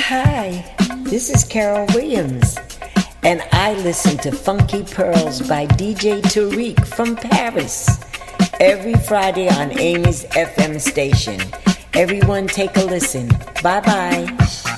Hi, this is Carol Williams, and I listen to Funky Pearls by DJ Tariq from Paris every Friday on Amy's FM station. Everyone take a listen. Bye-bye.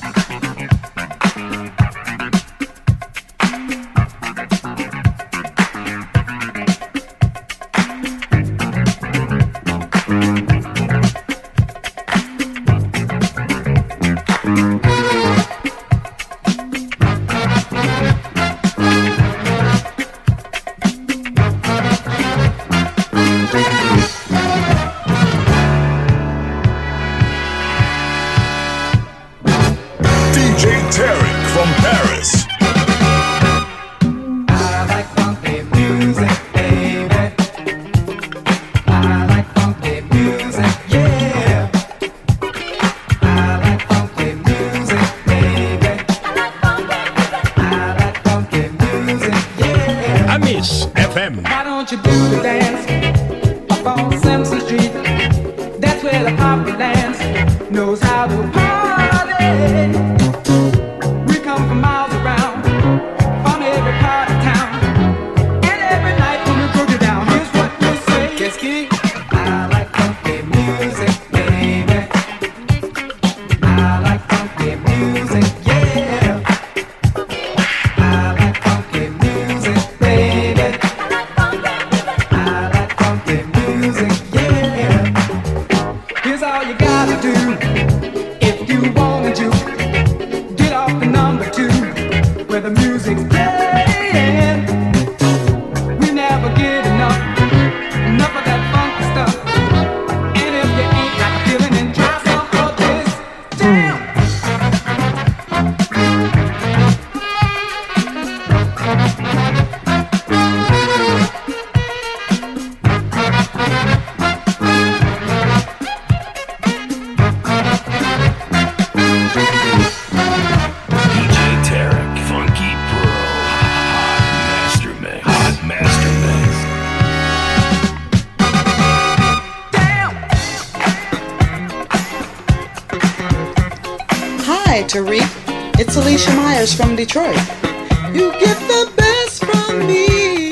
Tariq, it's Alicia Myers from Detroit. You get the best from me.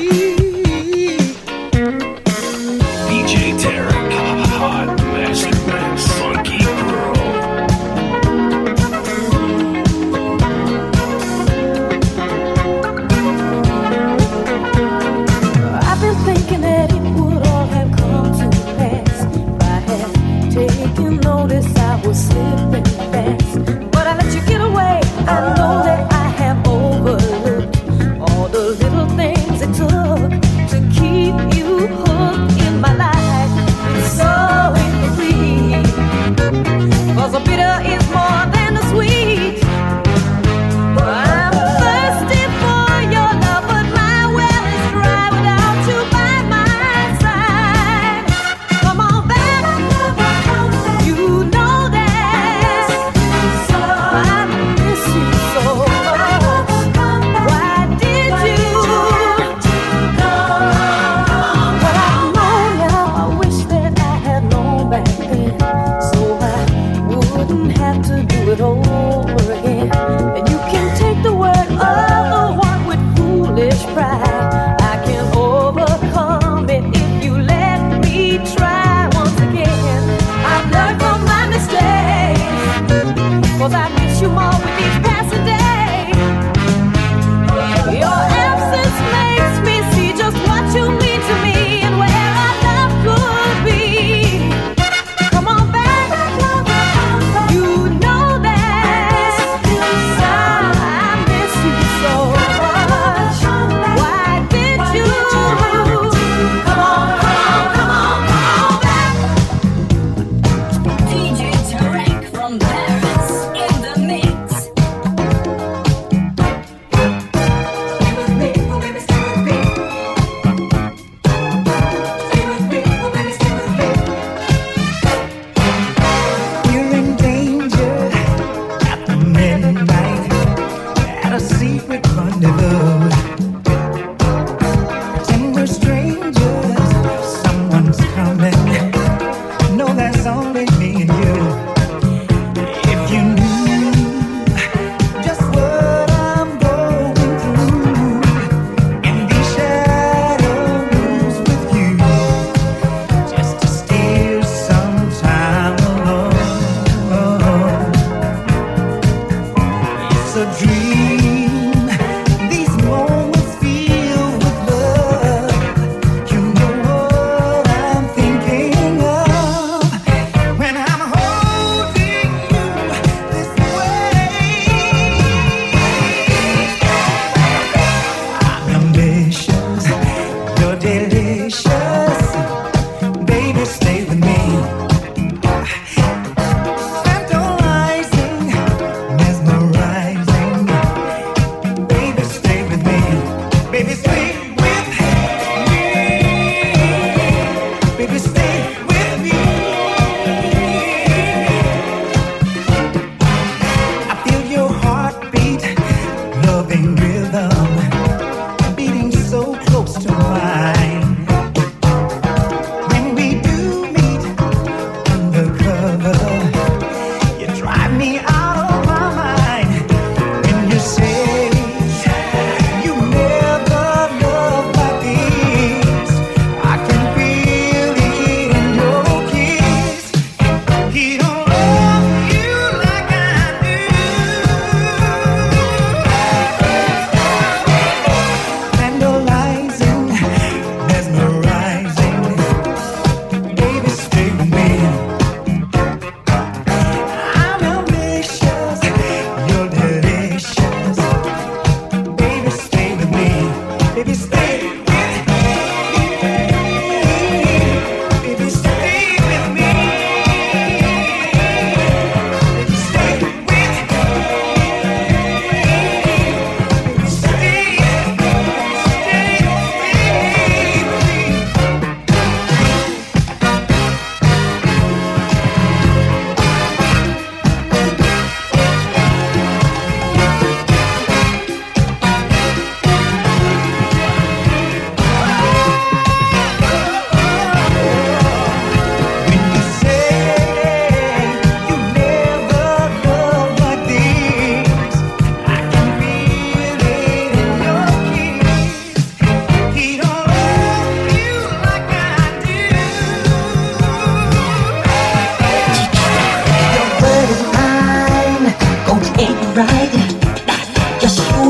DJ Tarek, hot master mix, funky pearl. I've been thinking that it would all have come to pass if I had taken notice I was slipping fast. I know that I have overlooked all the little things it took to keep you hooked in my life. It's so incomplete, 'cause the bitter is more than the sweet. I'm thirsty for your love, but my well is dry without you by my side. Come on back, you know that. So I miss you so much. Why did you come? Well, I know now. I wish that I had known back then, so I wouldn't have to do it over again. And you can take the word of the one with foolish pride. I can overcome it if you let me try once again. I've learned from my mistakes, 'cause I miss you more with each passing day. Your absence makes me see just what you mean to me and where our love could be. Come on back, you know that. I miss you so much. Why did you? Come on back. DJ Tarek from Paris in the mix.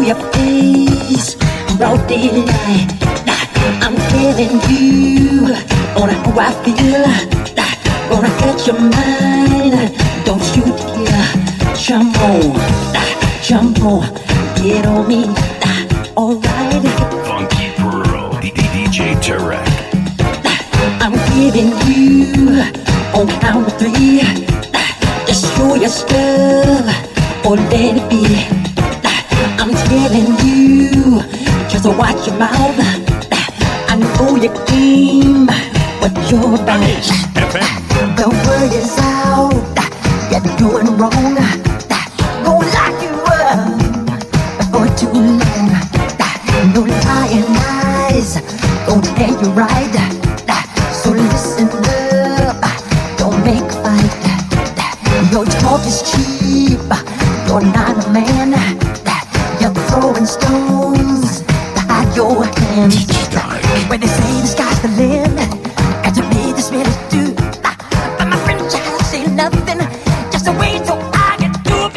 your face, broad daylight. I'm telling you on how I feel. Gonna catch your mind. Don't you dare jump on, get on me. Alright. Funky Pearl, DJ Tarek. I'm giving you on count of three. Just show your stuff or let it be. I'm telling you, just watch your mouth. I know your game, but you're right. The word is out, you're doing wrong. Gonna lock you up for too long. No lying eyes, gonna tell you right. So listen up, don't make a fight. Your talk is cheap, you're not a man. You're throwing stones to hide your hands. When they say the sky's the limit, and to me this really do. But my friend child say nothing, just a wait till I get through.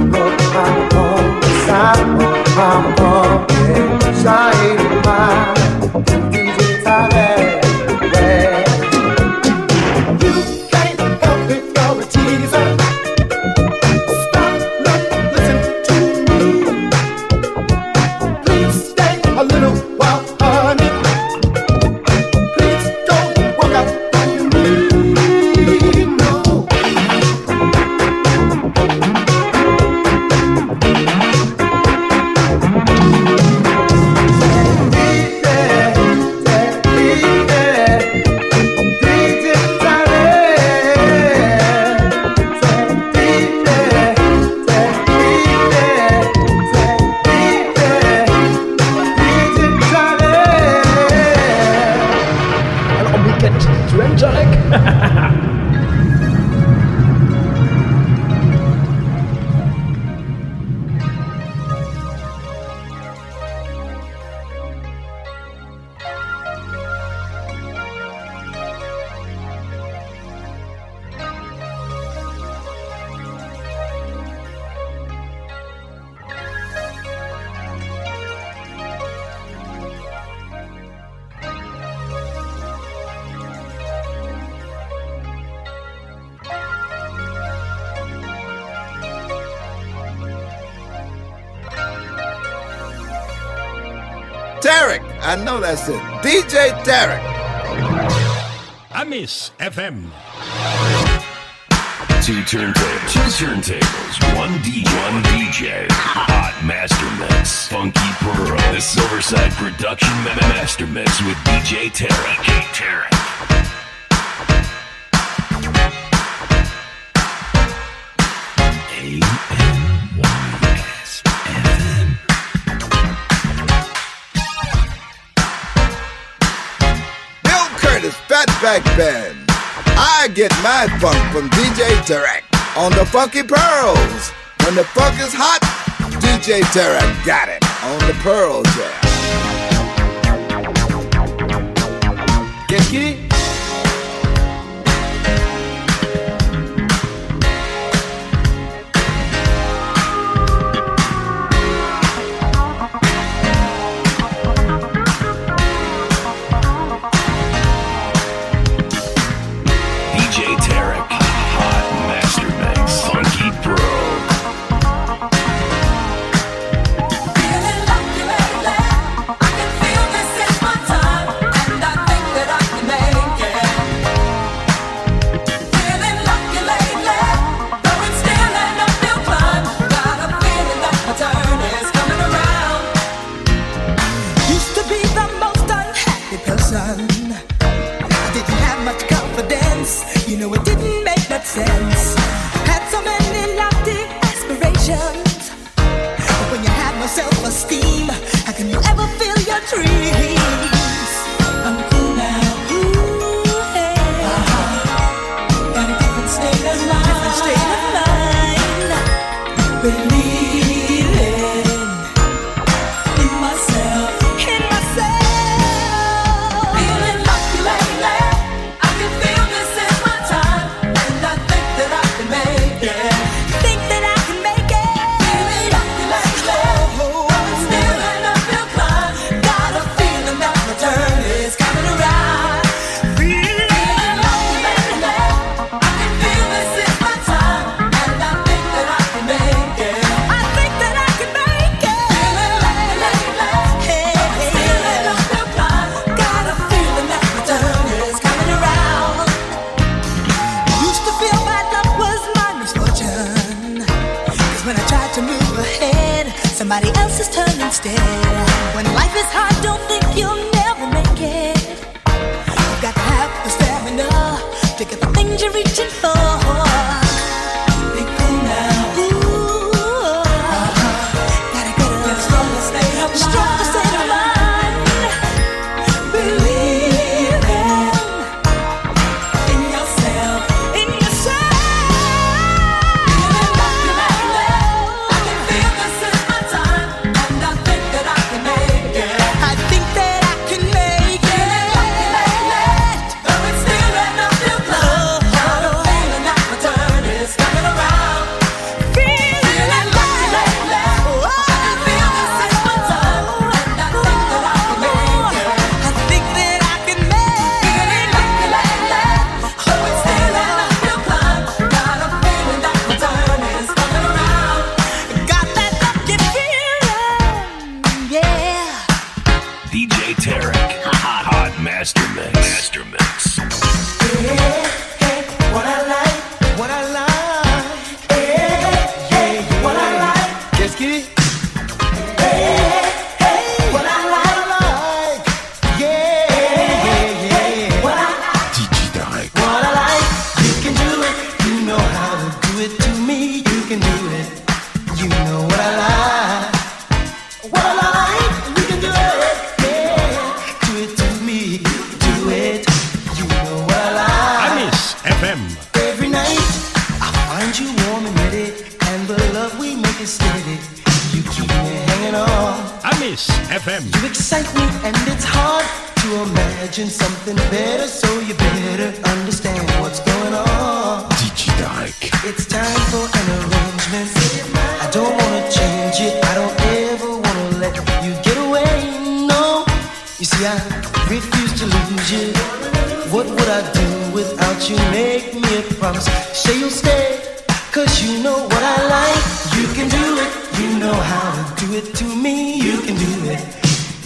Side of mine. I know that's it. DJ Tarek. Amis FM. Two turntables, one DJ, hot master mix, Funky Pearl, the Silverside Production Master Mix with DJ Tarek. AMYS FM. Bill Curtis, Fatback Band. I get my funk from DJ Tarek on the Funky Pearls. When the funk is hot, DJ Tarek got it on the Pearl Jam. Get it?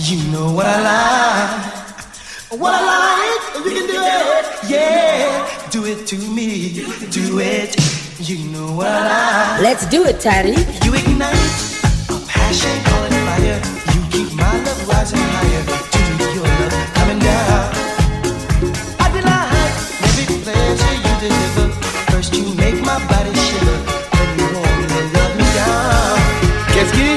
You know what I like. What I like, you can do it. Yeah, do it to me. Do it. You know what I like. Let's do it, Tariq. You ignite a passion, call it fire. You keep my love rising higher. To your love coming down. I delight every pleasure you deliver. First you make my body shiver. Then you only love me down. Qu'est-ce qui?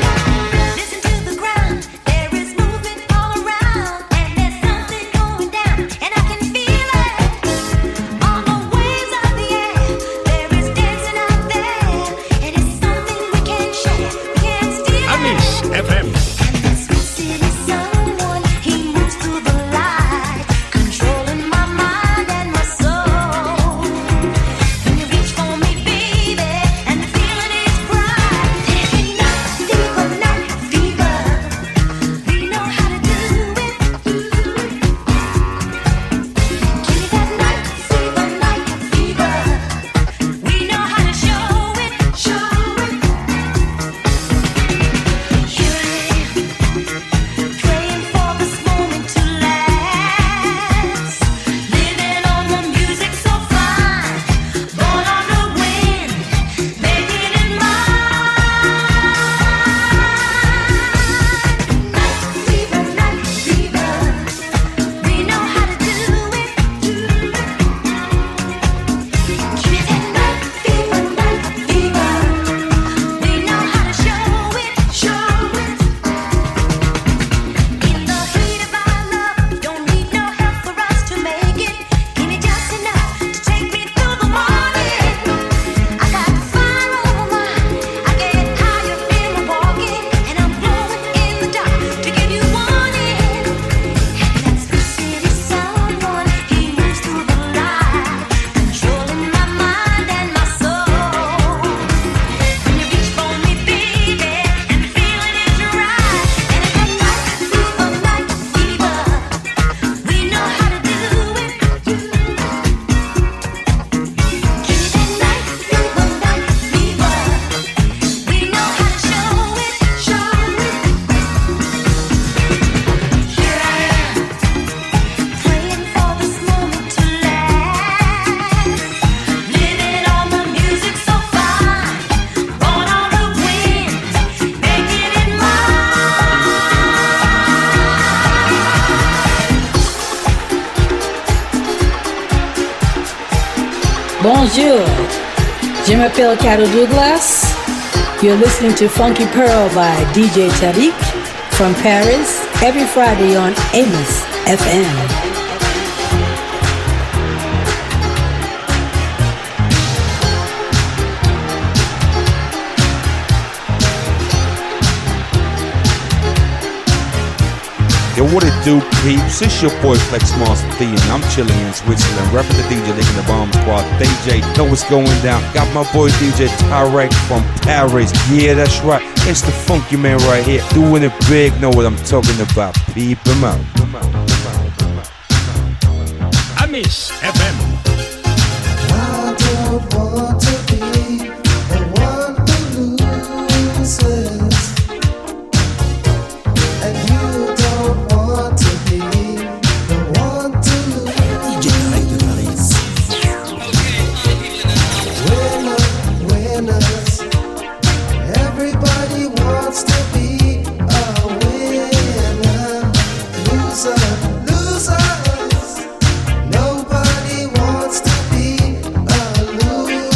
Bonjour, je m'appelle Carol Douglas. You're listening to Funky Pearl by DJ Tariq from Paris every Friday on Amos FM. Yo, what it do, peeps? It's your boy Flex Master D, and I'm chilling in Switzerland, repping the DJ Lick in the Bomb Squad. DJ, know what's going down. Got my boy DJ Tarek from Paris. Yeah, that's right. It's the funky man right here, doing it big. Know what I'm talking about? Peep him out. Amos FM. I don't want to be the one who loses, and you don't want to be the one to lose. Winners, everybody wants to be a winner. Losers, nobody wants to be a loser.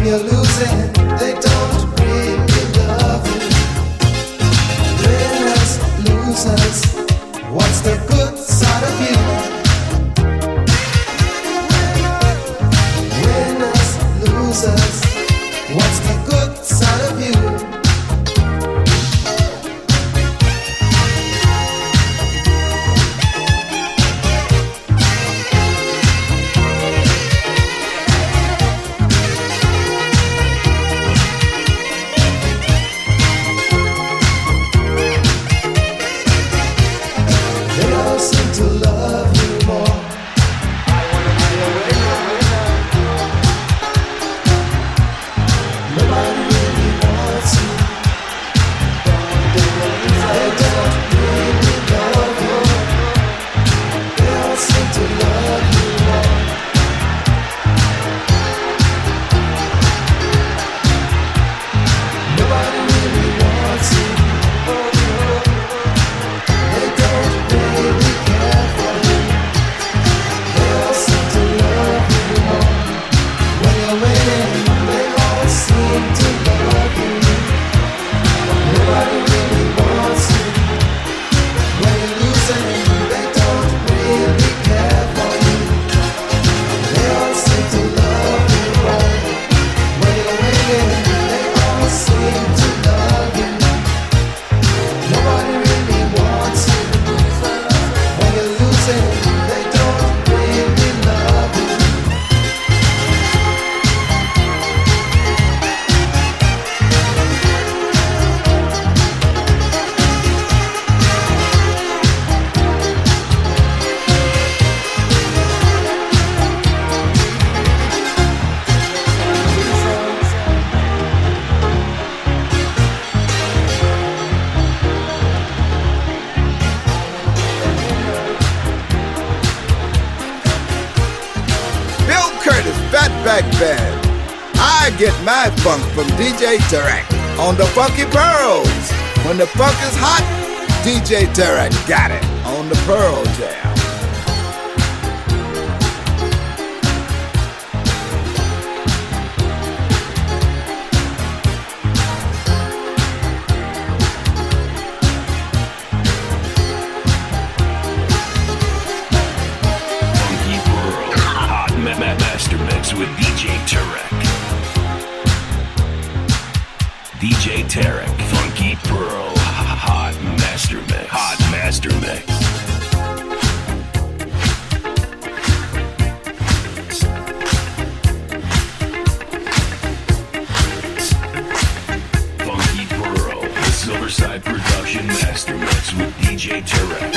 you're losing, they don't really love you. Winners, losers, what's the good side of you? Winners, losers, what's the good side of you? Get my funk from DJ Tarek on the Funky Pearls. When the funk is hot, DJ Tarek got it on the Pearl Jam. Funky Pearl, hot master mix with DJ Tarek. DJ Tarek, Funky Pearl, hot master mix. Hot master mix. Funky Pearl, the Silverside Production master mix with DJ Tarek.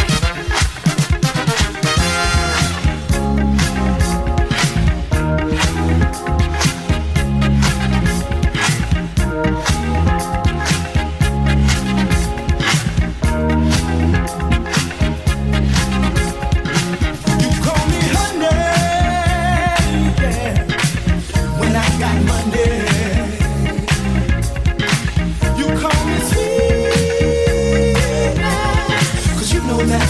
You call me sweet, 'cause you know that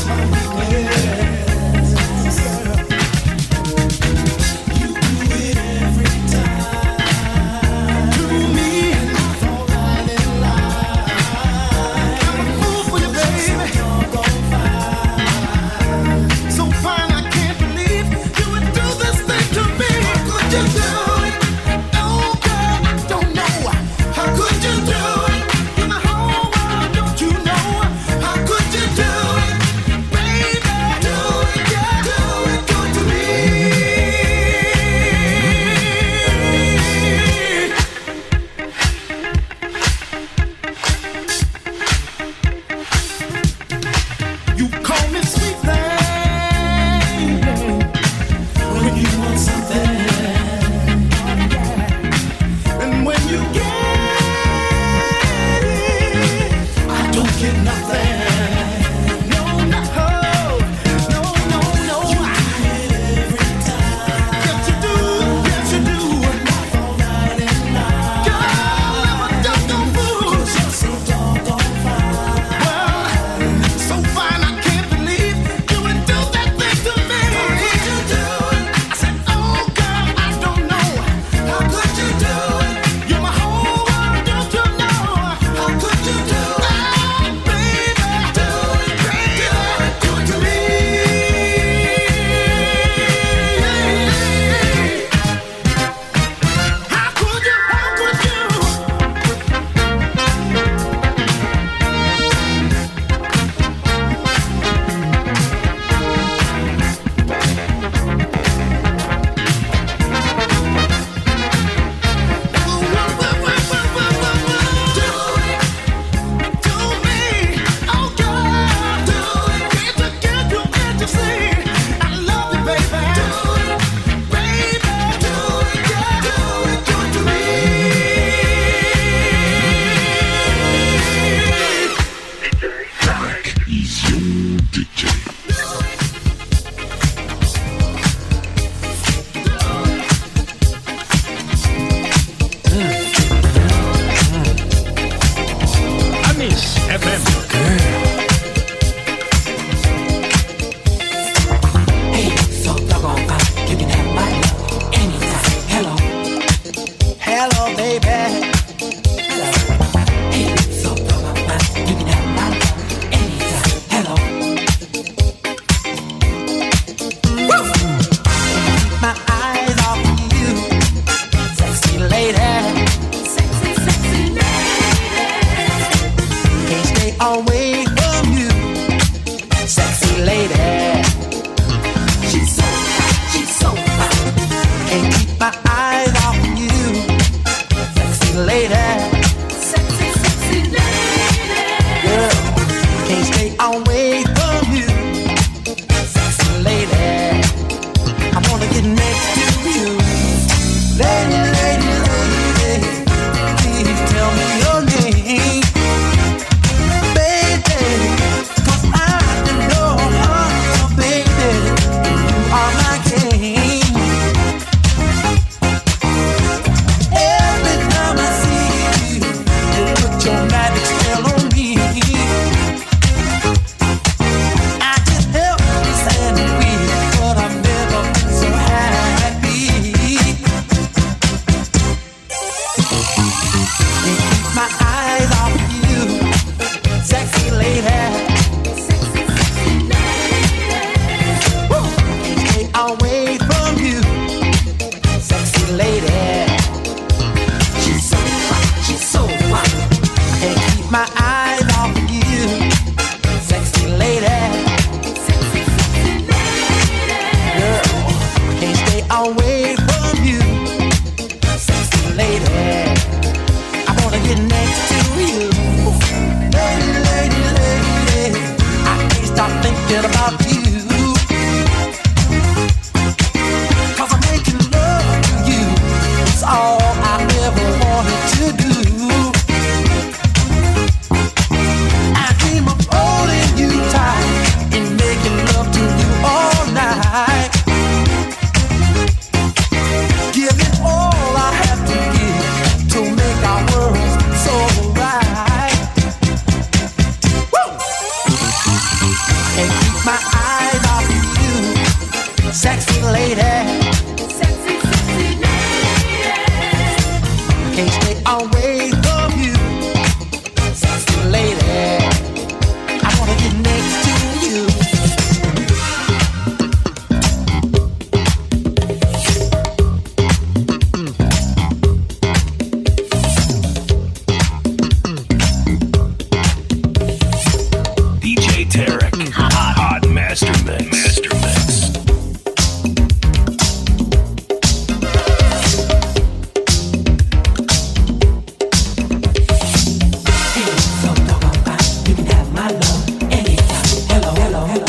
Hello, baby. Hey, so come on, you can have my love anytime. Hello. Woo! Keep my eyes off you, sexy lady. Sexy, sexy lady. Can't stay away from you, sexy lady. She's so fine. Can't keep my eyes off you, sexy lady. Sexy, sexy lady. Girl, can't stay away from you, sexy lady. I wanna get next to you, lady, lady, lady. Please tell me your name, baby. 'Cause I know, baby, you are my king. Every time I see you, you put your magic spell on me. I just help me stand weak, but I've never been so happy. Can't keep my eyes off you, sexy lady. Sexy, sexy lady. Woo! Can't stay away from you, sexy lady. She's so fine, she's so fine. Can't keep my eyes off you, sexy lady. Sexy, sexy lady. Girl, can't stay away from you, sexy lady. I wanna get next to you, lady, lady, lady. I can't stop thinking about you, 'cause I'm making love to you. It's all I ever wanted to do. I dream of holding you tight and making love to you all night. Giving all I have to give to make our world so right. Woo! Can't keep my eyes off you, sexy lady. Sexy, sexy lady. Can't stay away from you, sexy lady. I wanna get next to you. DJ Tarek, Hot Master Mix. Master Mix. Hey, so come on, you can have my love anytime. Hello, hello, hello.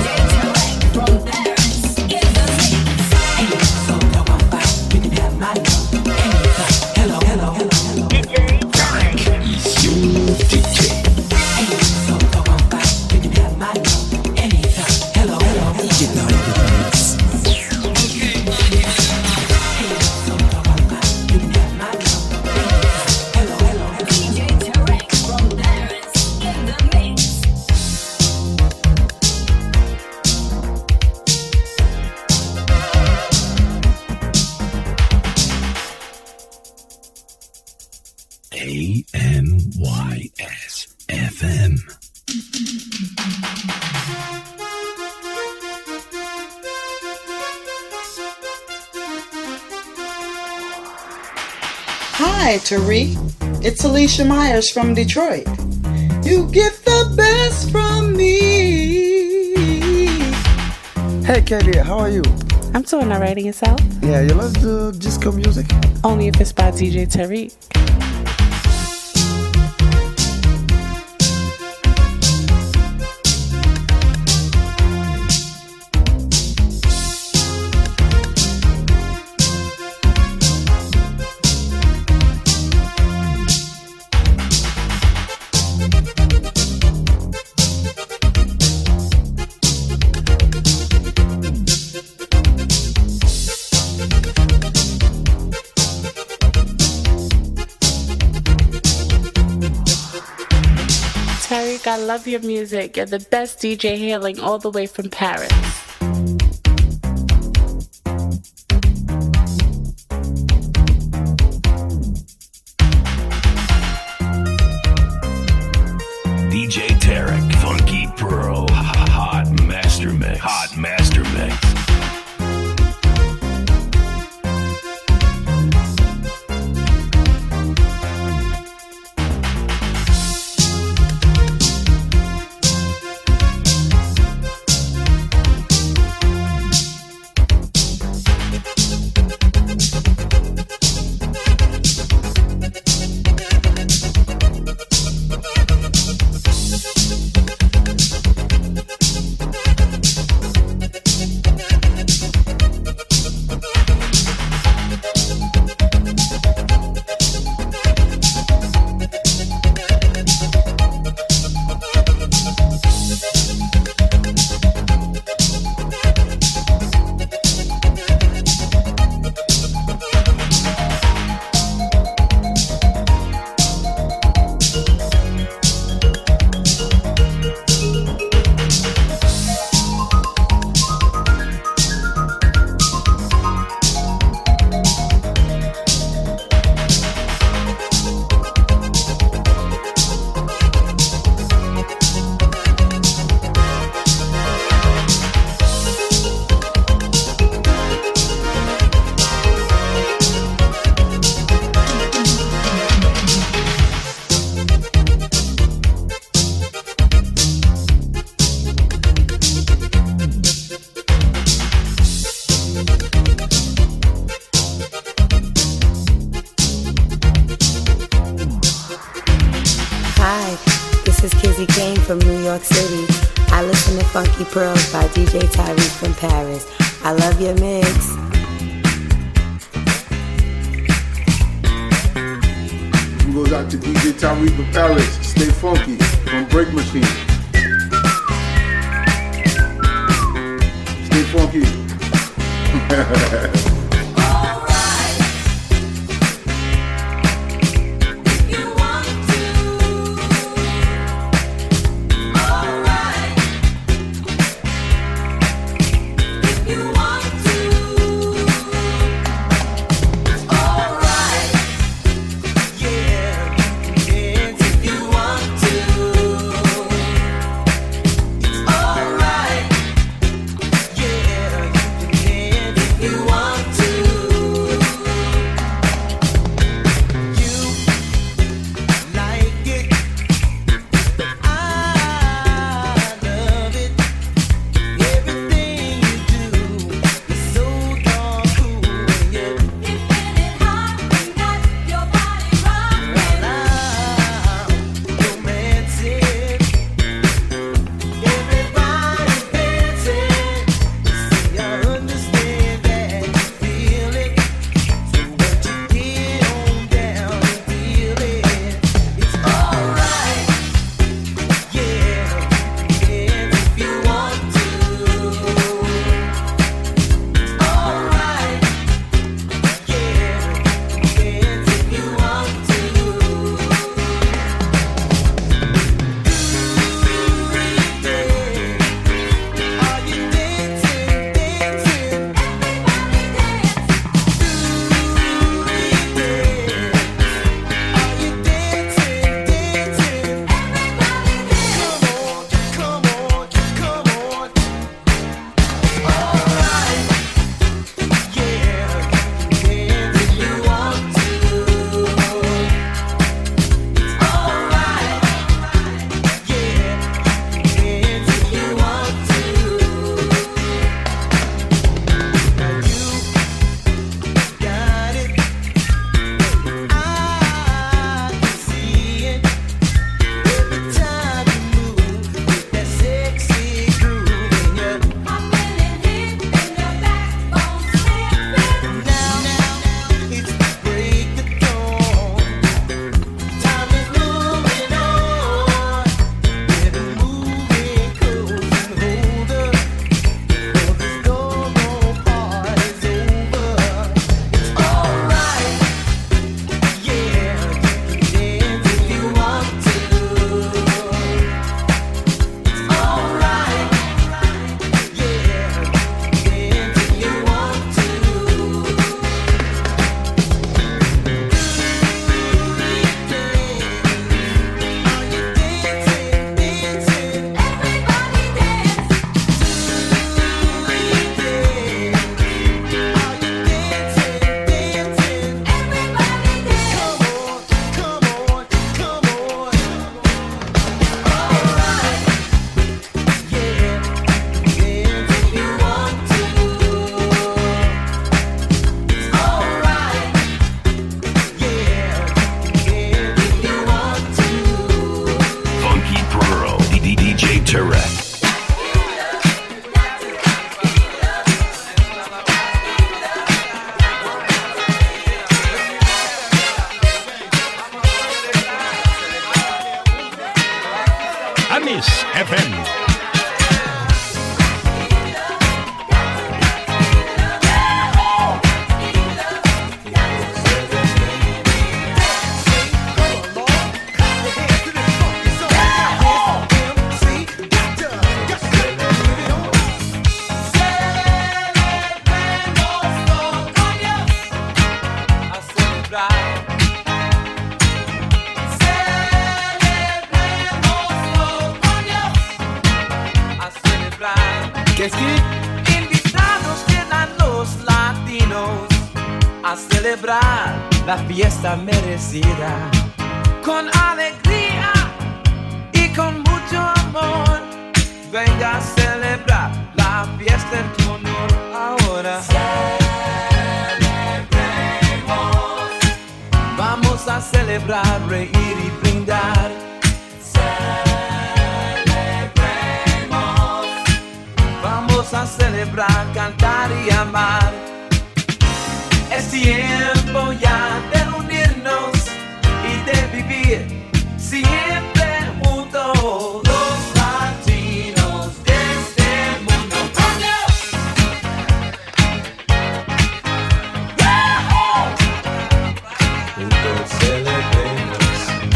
Hey, so come on, you can have my love anytime. Hello, hello, hello, hello. Is your DJ. Hey, so come on, you can have my love anytime. Hello, hello, hello. Hey, so come on, you can have my love anytime. Hello, hello, hello. AMYS FM. Hi, Tariq. It's Alicia Myers from Detroit. You get the best from me. Hey, Katie, how are you? I'm doing alright, and yourself? Yeah, you love the disco music? Only if it's by DJ Tariq. Tariq, I love your music. You're the best DJ hailing all the way from Paris. This is Kizzy Kane from New York City. I listen to Funky Pearls by DJ Tariq from Paris. I love your mix. It goes out to DJ Tariq from Paris. Stay funky from Break Machine. Stay funky. Invitados quedan los latinos a celebrar la fiesta merecida con alegría y con mucho amor. Venga a celebrar la fiesta en tu honor ahora. Celebremos. Vamos a celebrar, reír y brindar. Celebremos. a celebrar, cantar y amar. Es tiempo ya de unirnos y de vivir siempre juntos, los latinos de este mundo. Juntos celebremos.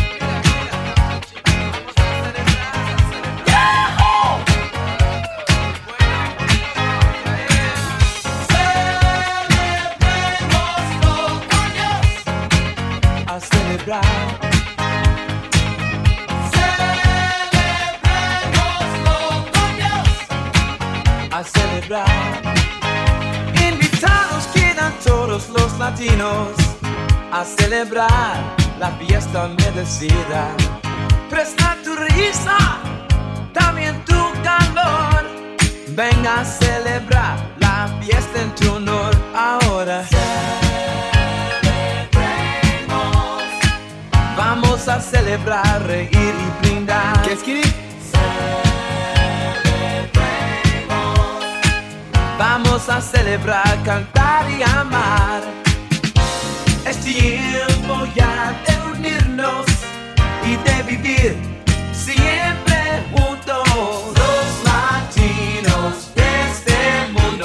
A celebrar. A celebrar. Invitados quedan todos los latinos a celebrar la fiesta merecida. Presta tu risa, también tu calor. Venga a celebrar la fiesta en tu honor ahora. Vamos a celebrar, reír y brindar. ¿Qué es que? Vamos a celebrar, cantar y amar. Es tiempo ya de unirnos y de vivir siempre juntos, los latinos de este mundo.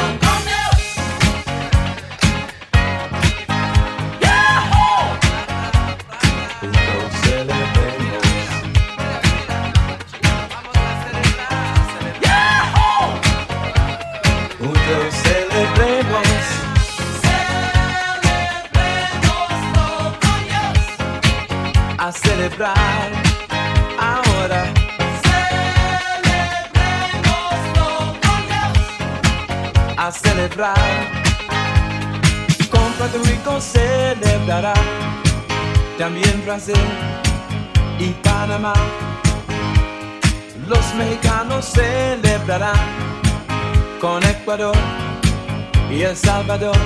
Juntos celebremos. Juntos celebremos. A celebrar ahora. A celebrar. Con Puerto Rico celebrará. También Brasil y Panamá. Los mexicanos celebrarán con Ecuador y El Salvador.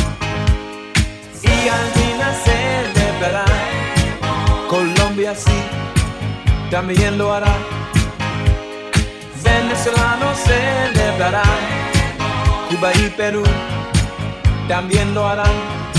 Y Argentina celebrará. Colombia sí, también lo hará. Venezolanos celebrarán. Cuba y Perú también lo harán.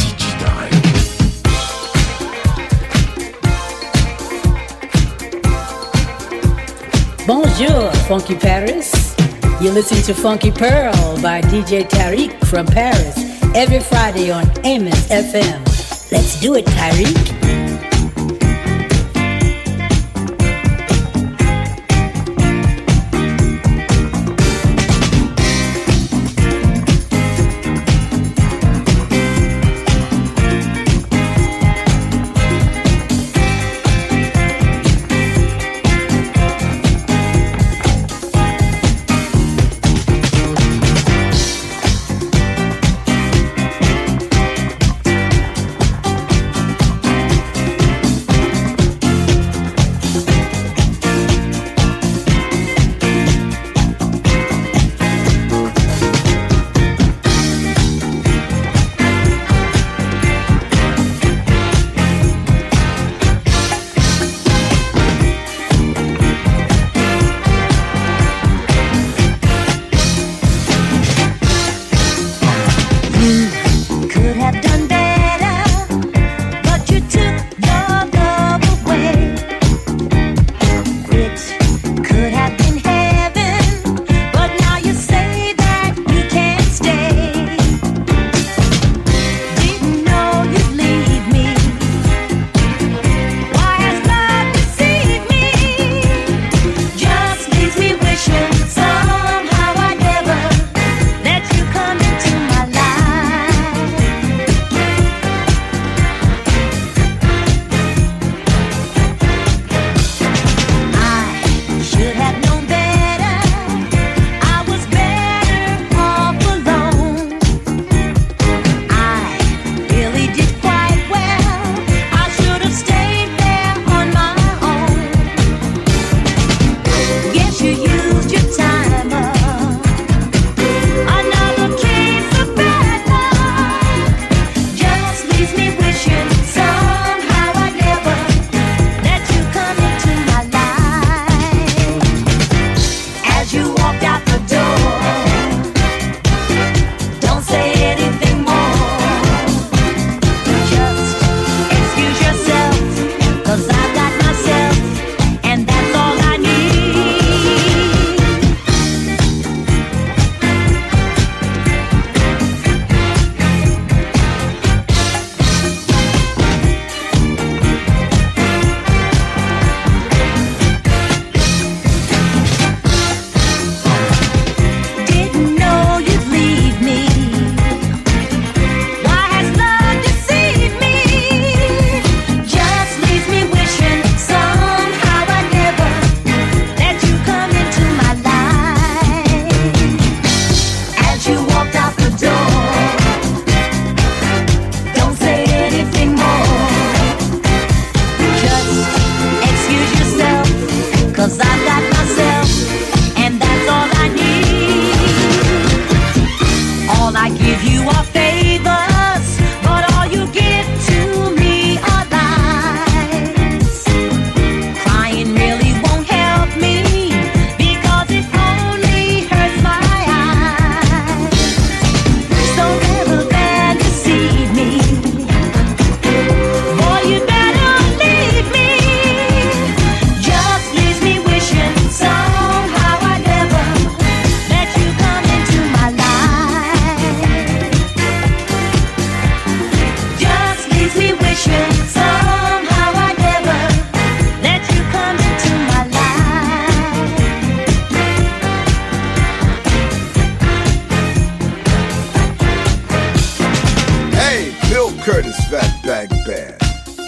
Bonjour, Funky Paris. You're listening to Funky Pearl by DJ Tariq from Paris every Friday on Amos FM. Let's do it, Tariq.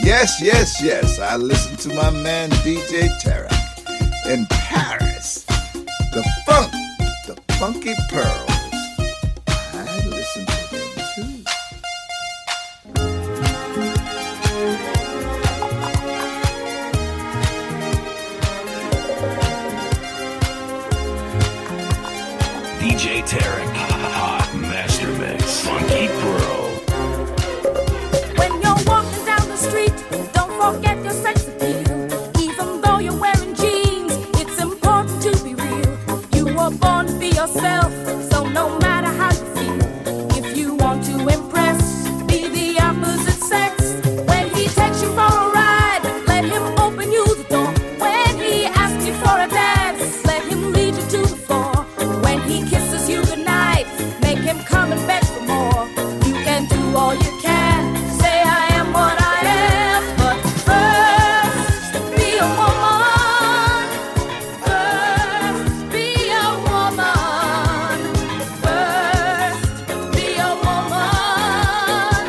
Yes, yes, yes. I listen to my man DJ Tarek in Paris. The funk, the funky pearls. I listen to them too. DJ Tarek, hot master mix, funky pearl. When you're walking down the street, don't forget your sex appeal. Even though you're wearing jeans, it's important to be real. You were born to be yourself, so no matter how you feel, if you want to impress, be the opposite sex. When he takes you for a ride, let him open you the door. When he asks you for a dance, let him lead you to the floor. When he kisses you goodnight, make him come and beg for more. You can do all you can, say I am what I am, but first be a woman. First be a woman. First be a woman.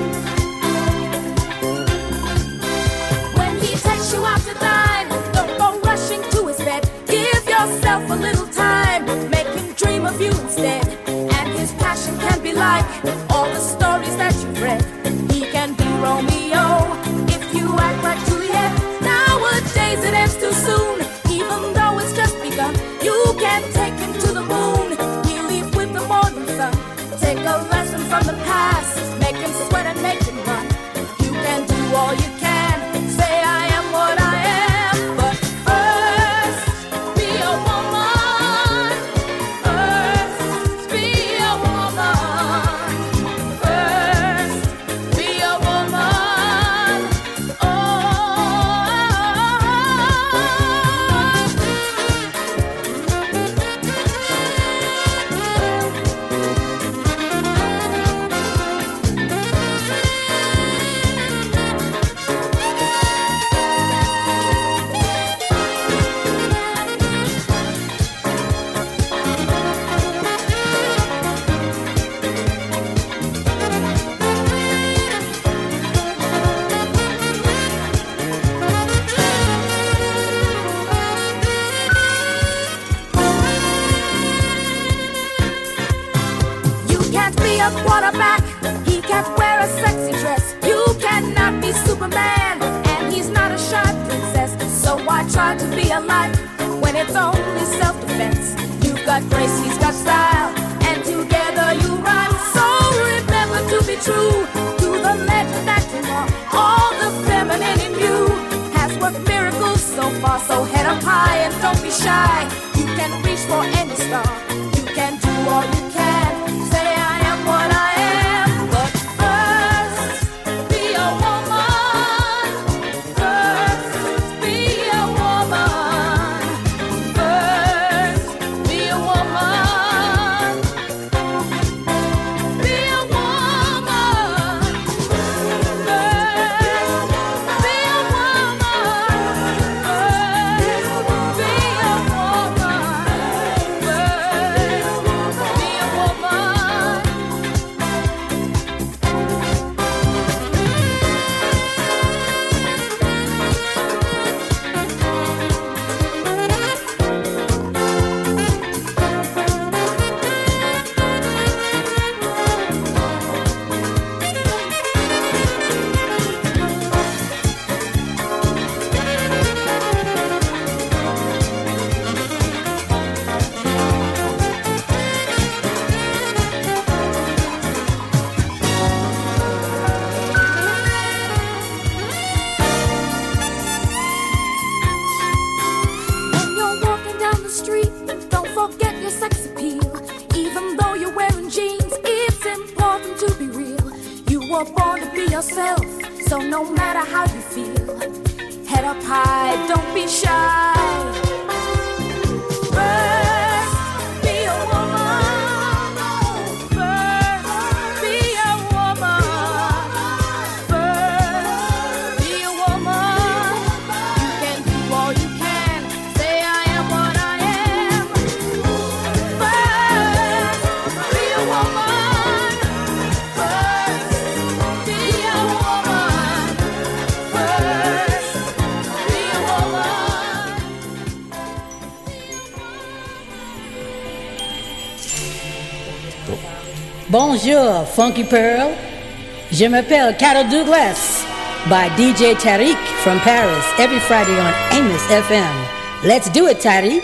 When he takes you out to dine, don't go rushing to his bed. Give yourself a little time, make him dream of you instead. And his passion can be like all the stories that you've read. He can be Romeo if you act like Juliet. Nowadays it ends too soon, even though it's just begun. You can take him to the moon, he'll leave with the morning sun. Take a lesson from the past, make him sweat and make him run. You can do all you can, say I am what I am, but first be a woman. First be a woman. First be a woman. Oh. You can't be a quarterback, he can't wear a sexy dress. You cannot be Superman, and he's not a shy princess. So why try to be alike when it's only self-defense? You've got grace, he's got style, and together you rhyme. So remember to be true to the legend that you are. All the feminine in you has worked miracles so far. So head up high and don't be shy. You can reach for any star. You can do all you can. Say I am what I am, but first be a woman. First be a woman. First be a woman. Be a woman. First be a woman. First be a woman. First be a woman. When you're walking down the street, don't forget your sex appeal. Even though you're wearing jeans, it's important to be real. You were born to be yourself, so no matter how you feel, head up high, don't be shy. First, be a woman. First, be a woman. First, be a woman. You can do all you can. Say I am what I am. First, be a woman. First, be a woman. Bonjour, Funky Pearl. Je m'appelle Carol Douglas by DJ Tariq from Paris every Friday on Amos FM. Let's do it, Tariq.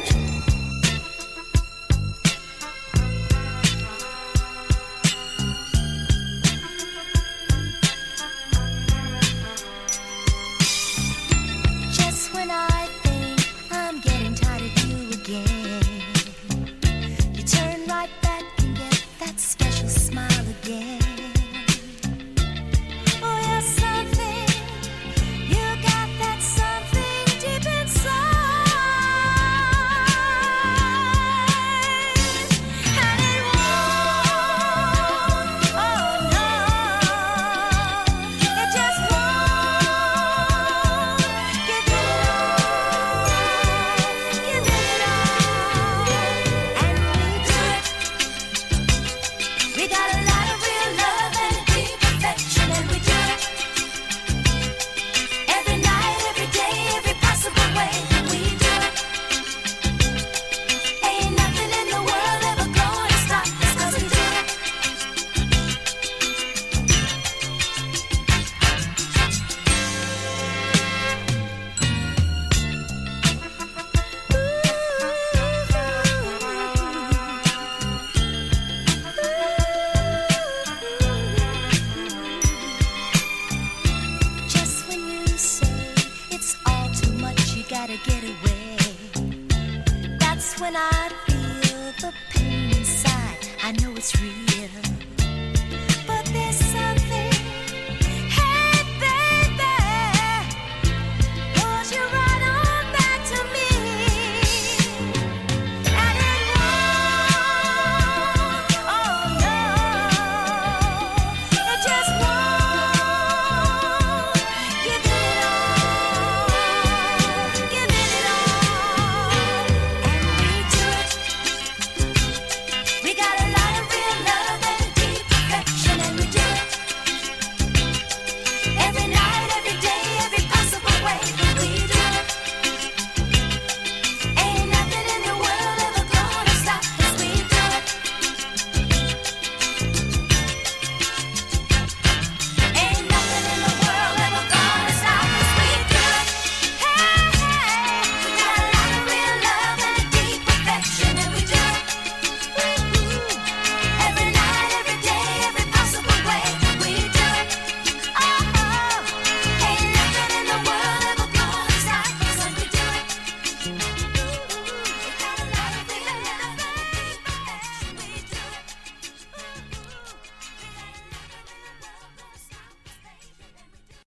Get away. That's when I feel the pain inside. I know it's real, but there's something